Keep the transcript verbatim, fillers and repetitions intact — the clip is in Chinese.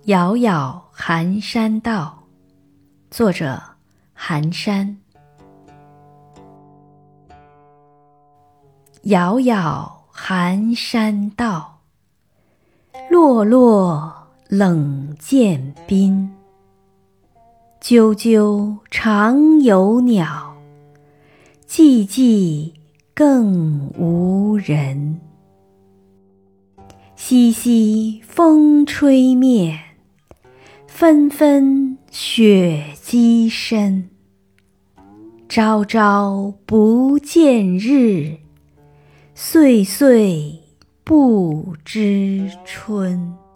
杳杳寒山道，作者寒山。杳杳寒山道，落落冷涧滨。啾啾常有鸟，寂寂更无人。淅淅风吹面，纷纷雪积身。朝朝不见日，岁岁不知春。